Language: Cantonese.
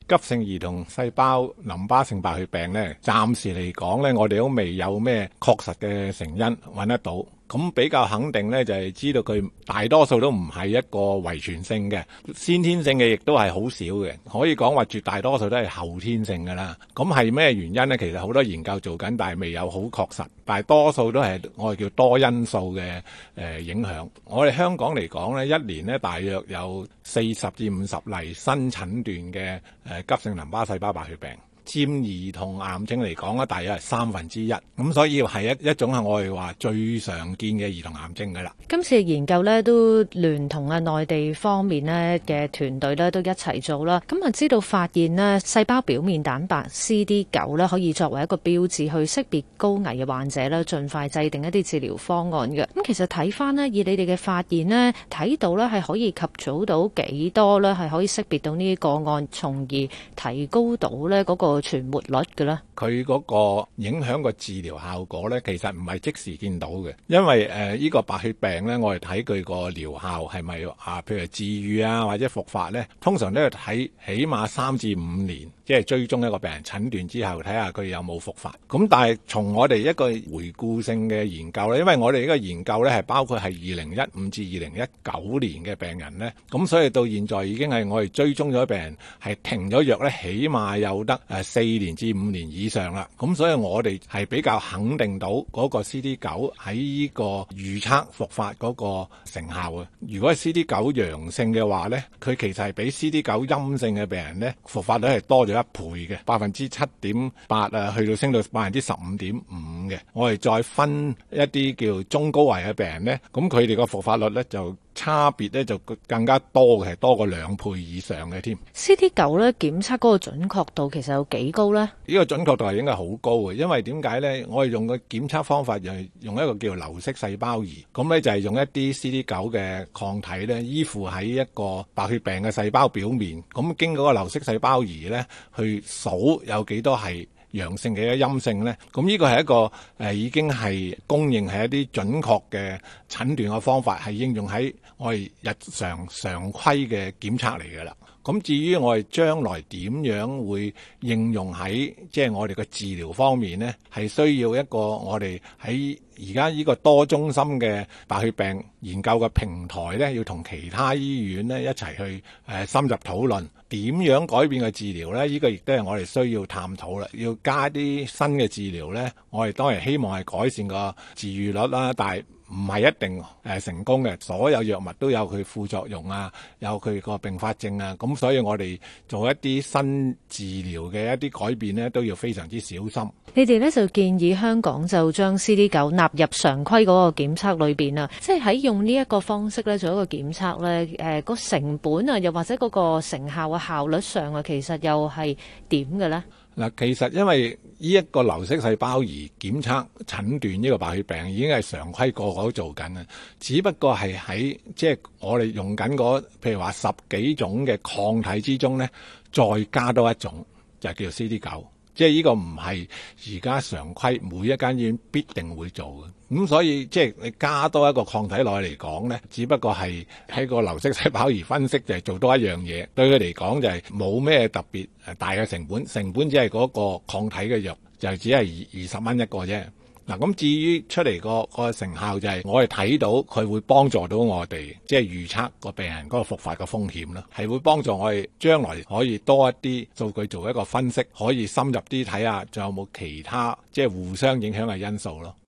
急性兒童細胞淋巴性白血病呢，暫時嚟講呢，我哋都未有咩確實嘅成因揾得到。咁比較肯定呢，就係知道佢大多數都唔係一個遺傳性嘅，先天性嘅亦都係好少嘅，可以講話絕大多數都係後天性㗎啦。咁係咩原因呢？其實好多研究做緊，但係未有好確實。但係多數都係我哋叫多因素嘅影響。我哋香港嚟講呢，一年呢大約有40至50例新診斷嘅急性淋巴細胞白血病。佔兒童癌症嚟講咧，大約係1/3，咁所以係一種係我哋話最常見嘅兒童癌症㗎啦。 今次嘅研究咧都聯同內地方面咧嘅團隊咧都一齊做啦，咁啊知道發現咧細胞表面蛋白 CD9 咧可以作為一個標誌去識別高危嘅患者咧，盡快制定一啲治療方案嘅。咁其實睇翻咧，以你哋嘅發現咧，睇到咧係可以及早到幾多咧，係可以識別到呢啲個案，從而提高到咧嗰個存活率嘅咧。 佢嗰個影響個治療效果咧，其實唔係即時見到嘅，因為呢個白血病咧，我哋睇佢個療效係咪譬如治癒啊或者復發咧，通常都要睇起碼3至5年，即係追蹤一個病人診斷之後，睇下佢有冇復發。咁但係從我哋一個回顧性嘅研究咧，因為我哋呢個研究咧係包括係2015至2019年嘅病人咧，咁所以到現在已經係我哋追蹤咗病人係停咗藥咧，起碼有得4年至5年以上啦。咁所以我哋係比較肯定到嗰個 CD9 喺呢個預測復發嗰個成效嘅。如果係 CD9 陽性嘅話咧，佢其實係比 CD9 陰性嘅病人咧復發率係多咗1倍嘅，7.8%去到升到15.5%嘅。我哋再分一啲叫中高危嘅病人咧，咁佢哋個復發率咧就差別咧就更加多嘅，係多過2倍以上嘅添。 CD9 咧檢測嗰個準確度其實有幾高咧？ 呢個準確度係應該好高嘅，因為點解咧？我哋用個檢測方法就係用一個叫流式細胞儀，咁咧就係用一啲 CD9 嘅抗體咧依附喺一個白血病嘅細胞表面，咁經過個流式細胞儀咧去數有幾多係陽性嘅陰性咧，咁呢個係一個已經係公認係一啲準確嘅診斷嘅方法，係應用喺我哋日常常規嘅檢測嚟㗎啦。咁至於我哋將來點樣會應用喺即係我哋嘅治療方面呢，係需要一個我哋喺而家呢個多中心嘅白血病研究嘅平台呢，要同其他醫院呢一齊去深入討論點樣改變嘅治療呢。呢個亦都係我哋需要探討啦。要加啲新嘅治療呢，我哋當然希望係改善個治癒率啦，但係唔係一定成功嘅，所有藥物都有佢副作用啊，有佢個併發症啊，咁所以我哋做一啲新治療嘅一啲改變呢，都要非常之小心。 你哋呢就建議香港就將 CD9 納入常規嗰個檢測裏邊啊，即係喺用呢一個方式咧做一個檢測咧，個成本啊，又或者嗰個成效嘅效率上啊，其實又係點嘅咧？ 嗱，其實因為呢一個流式細胞儀檢測診斷呢個白血病已經係常規個個都做緊嘅，只不過係喺即係我哋用緊嗰譬如話10幾種嘅抗體之中咧，再加多一種就叫做 CD9。即係呢個唔係而家常規每一間醫院必定會做嘅，咁所以即係你加多一個抗體落去嚟講呢，只不過係喺個流式細胞儀分析就係做多一樣嘢，對佢嚟講就係冇咩特別大嘅成本，成本只係嗰個抗體嘅藥就只係20蚊一個啫。嗱，咁至於出嚟個成效就係我哋睇到佢會幫助到我哋，即係預測個病人嗰個復發嘅風險啦，係會幫助我哋將來可以多一啲數據做一個分析，可以深入啲睇下仲有冇其他即係互相影響嘅因素咯。